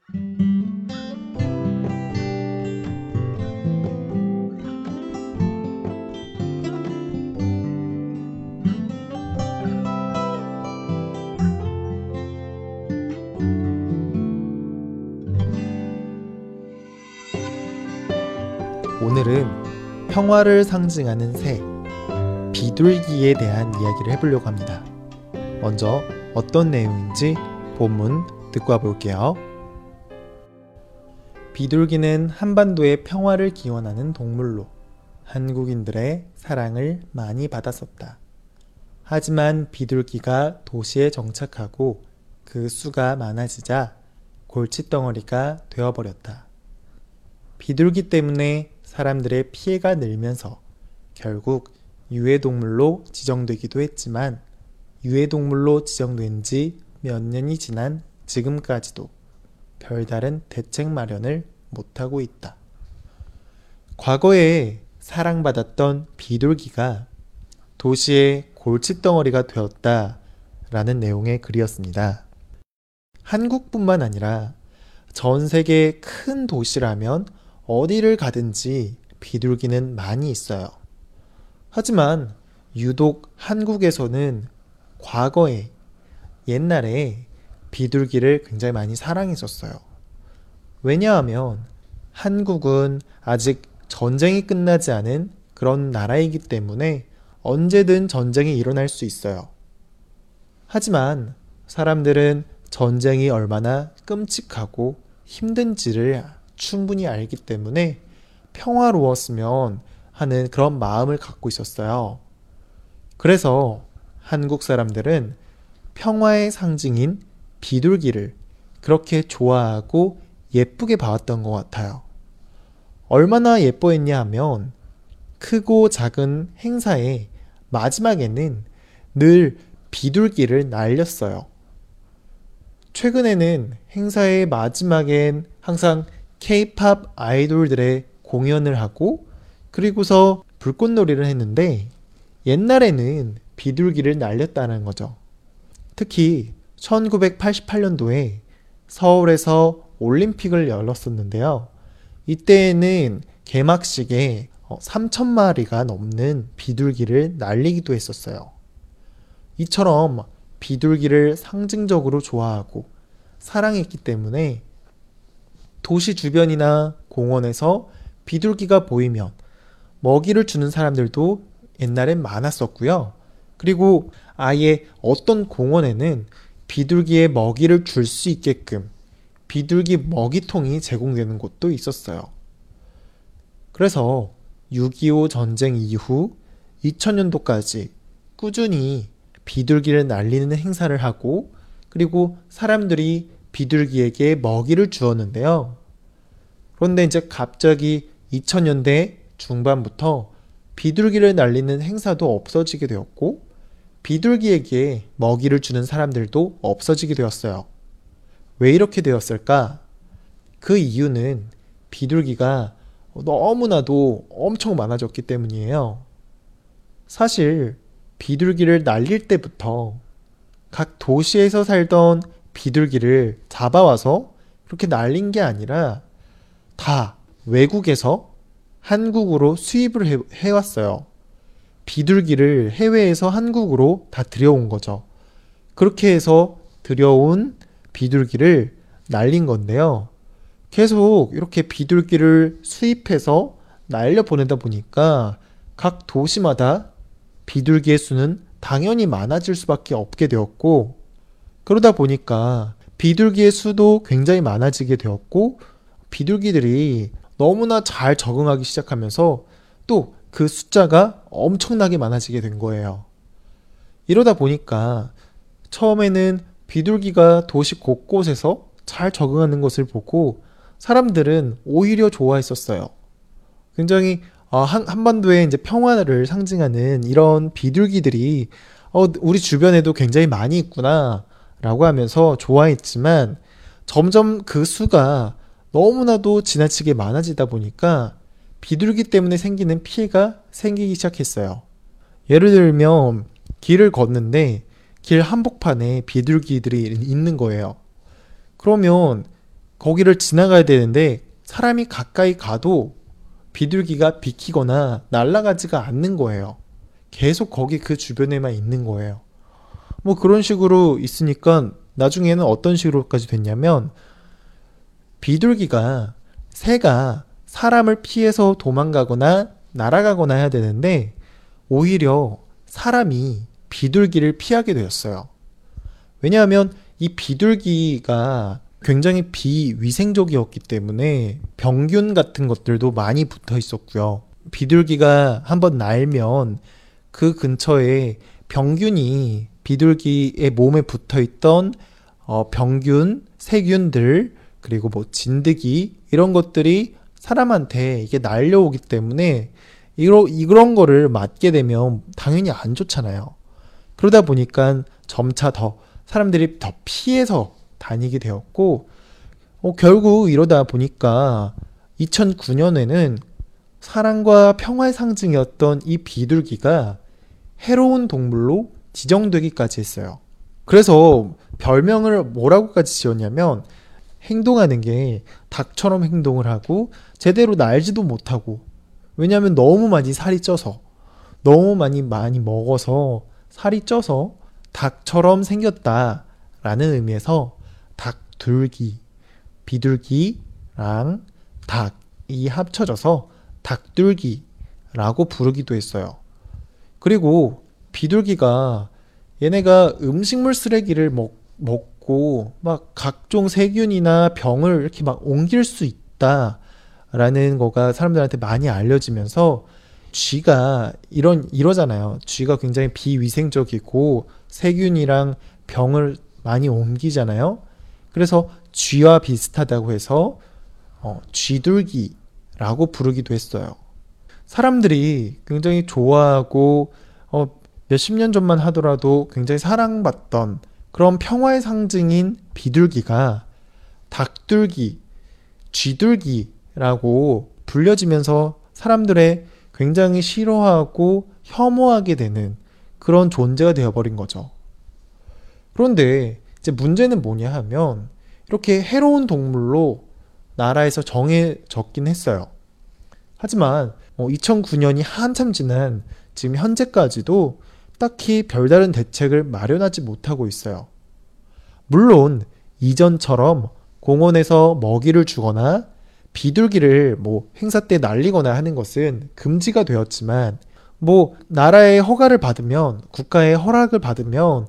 오늘은 평화를 상징하는 새, 비둘기에 대한 이야기를 해보려고 합니다. 먼저 어떤 내용인지 본문 듣고 와볼게요. 비둘기는 한반도의 평화를 기원하는 동물로 한국인들의 사랑을 많이 받았었다. 하지만 비둘기가 도시에 정착하고 그 수가 많아지자 골칫덩어리가 되어버렸다. 비둘기 때문에 사람들의 피해가 늘면서 결국 유해동물로 지정되기도 했지만 유해동물로 지정된 지 몇 년이 지난 지금까지도 별다른 대책 마련을 못하고 있다. 과거에 사랑받았던 비둘기가 도시의 골칫덩어리가 되었다라는 내용의 글이었습니다. 한국뿐만 아니라 전 세계 큰 도시라면 어디를 가든지 비둘기는 많이 있어요. 하지만 유독 한국에서는 과거에 옛날에 비둘기를 굉장히 많이 사랑했었어요. 왜냐하면 한국은 아직 전쟁이 끝나지 않은 그런 나라이기 때문에 언제든 전쟁이 일어날 수 있어요. 하지만 사람들은 전쟁이 얼마나 끔찍하고 힘든지를 충분히 알기 때문에 평화로웠으면 하는 그런 마음을 갖고 있었어요. 그래서 한국 사람들은 평화의 상징인 비둘기를 그렇게 좋아하고 예쁘게 봐왔던 것 같아요. 얼마나 예뻐했냐 하면 크고 작은 행사의 마지막에는 늘 비둘기를 날렸어요. 최근에는 행사의 마지막엔 항상 K-팝 아이돌들의 공연을 하고 그리고서 불꽃놀이를 했는데 옛날에는 비둘기를 날렸다는 거죠. 특히 1988년도에 서울에서 올림픽을 열었었는데요. 이때에는 개막식에 3,000마리가 넘는 비둘기를 날리기도 했었어요. 이처럼 비둘기를 상징적으로 좋아하고 사랑했기 때문에 도시 주변이나 공원에서 비둘기가 보이면 먹이를 주는 사람들도 옛날엔 많았었고요. 그리고 아예 어떤 공원에는 비둘기에 먹이를 줄 수 있게끔 비둘기 먹이통이 제공되는 곳도 있었어요. 그래서 6.25 전쟁 이후 2000년도까지 꾸준히 비둘기를 날리는 행사를 하고 그리고 사람들이 비둘기에게 먹이를 주었는데요. 그런데 이제 갑자기 2000년대 중반부터 비둘기를 날리는 행사도 없어지게 되었고 비둘기에게 먹이를 주는 사람들도 없어지게 되었어요. 왜 이렇게 되었을까? 그 이유는 비둘기가 너무나도 엄청 많아졌기 때문이에요. 사실 비둘기를 날릴 때부터 각 도시에서 살던 비둘기를 잡아와서 그렇게 날린 게 아니라 다 외국에서 한국으로 수입을 해왔어요. 비둘기를 해외에서 한국으로 다 들여온 거죠. 그렇게 해서 들여온 비둘기를 날린 건데요. 계속 이렇게 비둘기를 수입해서 날려보내다 보니까 각 도시마다 비둘기의 수는 당연히 많아질 수밖에 없게 되었고 그러다 보니까 비둘기의 수도 굉장히 많아지게 되었고 비둘기들이 너무나 잘 적응하기 시작하면서 또 그 숫자가 엄청나게 많아지게 된 거예요. 이러다 보니까 처음에는 비둘기가 도시 곳곳에서 잘 적응하는 것을 보고 사람들은 오히려 좋아했었어요. 굉장히 한반도의 이제 평화를 상징하는 이런 비둘기들이 우리 주변에도 굉장히 많이 있구나 라고 하면서 좋아했지만 점점 그 수가 너무나도 지나치게 많아지다 보니까 비둘기 때문에 생기는 피해가 생기기 시작했어요. 예를 들면 길을 걷는데 길 한복판에 비둘기들이 있는 거예요. 그러면 거기를 지나가야 되는데 사람이 가까이 가도 비둘기가 비키거나 날아가지가 않는 거예요. 계속 거기 그 주변에만 있는 거예요. 뭐 그런 식으로 있으니까 나중에는 어떤 식으로까지 됐냐면 비둘기가 새가 사람을 피해서 도망가거나 날아가거나 해야 되는데 오히려 사람이 비둘기를 피하게 되었어요. 왜냐하면 이 비둘기가 굉장히 비위생적이었기 때문에 병균 같은 것들도 많이 붙어 있었고요. 비둘기가 한번 날면 그 근처에 병균이 비둘기의 몸에 붙어 있던 병균, 세균들, 그리고 뭐 진드기 이런 것들이 사람한테 이게 날려오기 때문에 이런 거를 맞게 되면 당연히 안 좋잖아요. 그러다 보니까 점차 더 사람들이 더 피해서 다니게 되었고 결국 이러다 보니까 2009년에는 사랑과 평화의 상징이었던 이 비둘기가 해로운 동물로 지정되기까지 했어요. 그래서 별명을 뭐라고까지 지었냐면 행동하는 게 닭처럼 행동을 하고 제대로 날지도 못하고 왜냐하면 너무 많이 살이 쪄서 너무 많이 먹어서 살이 쪄서 닭처럼 생겼다라는 의미에서 닭둘기, 비둘기랑 닭이 합쳐져서 닭둘기라고 부르기도 했어요. 그리고 비둘기가 얘네가 음식물 쓰레기를 먹고 막 각종 세균이나 병을 이렇게 막 옮길 수 있다라는 거가 사람들한테 많이 알려지면서 쥐가 이러잖아요. 쥐가 굉장히 비위생적이고 세균이랑 병을 많이 옮기잖아요. 그래서 쥐와 비슷하다고 해서 쥐둘기라고 부르기도 했어요. 사람들이 굉장히 좋아하고 몇십 년 전만 하더라도 굉장히 사랑받던 그런 평화의 상징인 비둘기가 닭둘기, 쥐둘기라고 불려지면서 사람들의 굉장히 싫어하고 혐오하게 되는 그런 존재가 되어버린 거죠. 그런데 이제 문제는 뭐냐 하면 이렇게 해로운 동물로 나라에서 정해졌긴 했어요. 하지만 2009년이 한참 지난 지금 현재까지도 딱히 별다른 대책을 마련하지 못하고 있어요. 물론 이전처럼 공원에서 먹이를 주거나 비둘기를 뭐 행사 때 날리거나 하는 것은 금지가 되었지만 나라의 허가를 받으면 국가의 허락을 받으면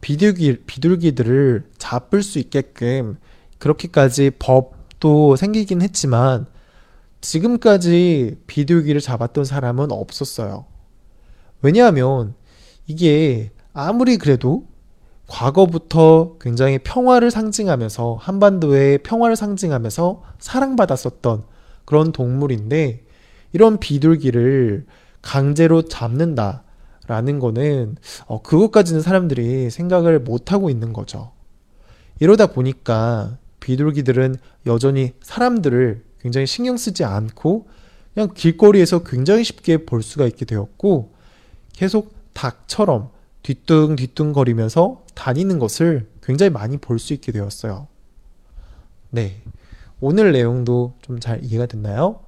비둘기들을 잡을 수 있게끔 그렇게까지 법도 생기긴 했지만 지금까지 비둘기를 잡았던 사람은 없었어요. 왜냐하면 이게 아무리 그래도 과거부터 굉장히 평화를 상징하면서 한반도의 평화를 상징하면서 사랑받았었던 그런 동물인데 이런 비둘기를 강제로 잡는다라는 거는 그것까지는 사람들이 생각을 못하고 있는 거죠. 이러다 보니까 비둘기들은 여전히 사람들을 굉장히 신경 쓰지 않고 그냥 길거리에서 굉장히 쉽게 볼 수가 있게 되었고 계속 닭처럼 뒤뚱뒤뚱 거리면서 다니는 것을 굉장히 많이 볼 수 있게 되었어요. 네. 오늘 내용도 좀 잘 이해가 됐나요?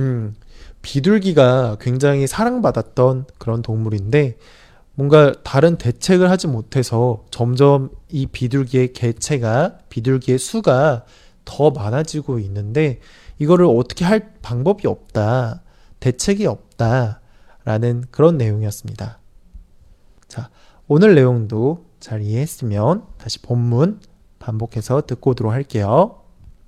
비둘기가 굉장히 사랑받았던 그런 동물인데 뭔가 다른 대책을 하지 못해서 점점 이 비둘기의 비둘기의 수가 더 많아지고 있는데 이거를 어떻게 할 방법이 없다, 대책이 없다라는 그런 내용이었습니다. 자, 오늘 내용도 잘 이해했으면 다시 본문 반복해서 듣고 오도록 할게요.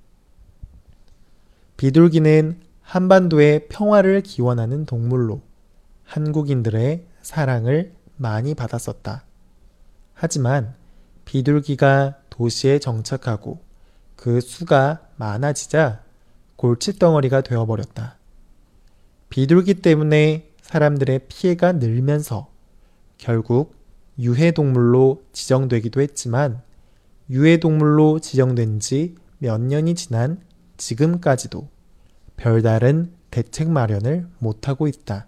비둘기는 한반도의 평화를 기원하는 동물로 한국인들의 사랑을 많이 받았었다. 하지만 비둘기가 도시에 정착하고 그 수가 많아지자 골칫덩어리가 되어버렸다. 비둘기 때문에 사람들의 피해가 늘면서 결국 유해동물로 지정되기도 했지만 유해동물로 지정된 지 몇 년이 지난 지금까지도 별다른 대책 마련을 못하고 있다.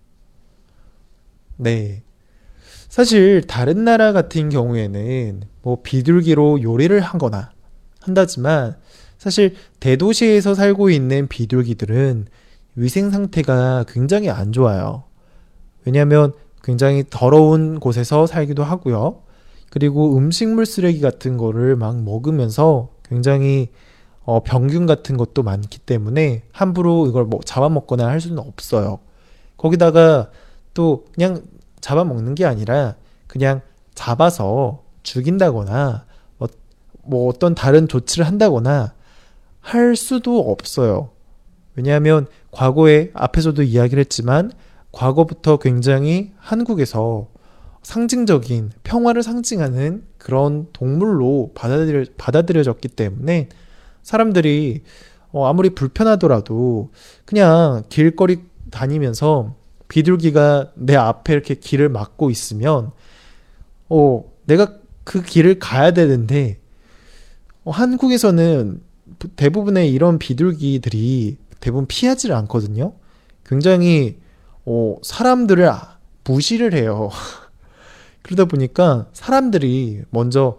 네. 사실 다른 나라 같은 경우에는 비둘기로 요리를 하거나 한다지만 사실 대도시에서 살고 있는 비둘기들은 위생 상태가 굉장히 안 좋아요. 왜냐하면 굉장히 더러운 곳에서 살기도 하고요. 그리고 음식물 쓰레기 같은 거를 막 먹으면서 굉장히 병균 같은 것도 많기 때문에 함부로 이걸 잡아먹거나 할 수는 없어요. 거기다가 또 그냥 잡아먹는 게 아니라 그냥 잡아서 죽인다거나 어떤 다른 조치를 한다거나 할 수도 없어요. 왜냐하면 과거에 앞에서도 이야기를 했지만 과거부터 굉장히 한국에서 상징적인 평화를 상징하는 그런 동물로 받아들여졌기 때문에 사람들이 아무리 불편하더라도 그냥 길거리 다니면서 비둘기가 내 앞에 이렇게 길을 막고 있으면 내가 그 길을 가야 되는데 한국에서는 대부분의 이런 비둘기들이 대부분 피하지를 않거든요. 굉장히 사람들을 무시를 해요. 그러다 보니까 사람들이 먼저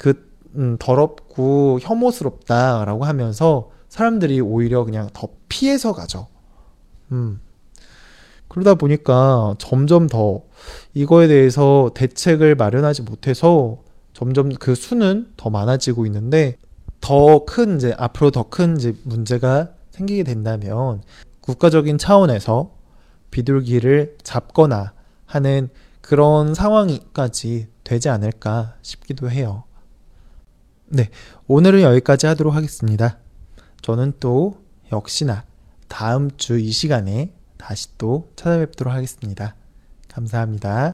더럽고 혐오스럽다라고 하면서 사람들이 오히려 그냥 더 피해서 가죠. 그러다 보니까 점점 더 이거에 대해서 대책을 마련하지 못해서 점점 그 수는 더 많아지고 있는데 앞으로 더 큰 문제가 생기게 된다면 국가적인 차원에서 비둘기를 잡거나 하는 그런 상황까지 되지 않을까 싶기도 해요. 네, 오늘은 여기까지 하도록 하겠습니다. 저는 또 역시나 다음 주 이 시간에 다시 또 찾아뵙도록 하겠습니다. 감사합니다.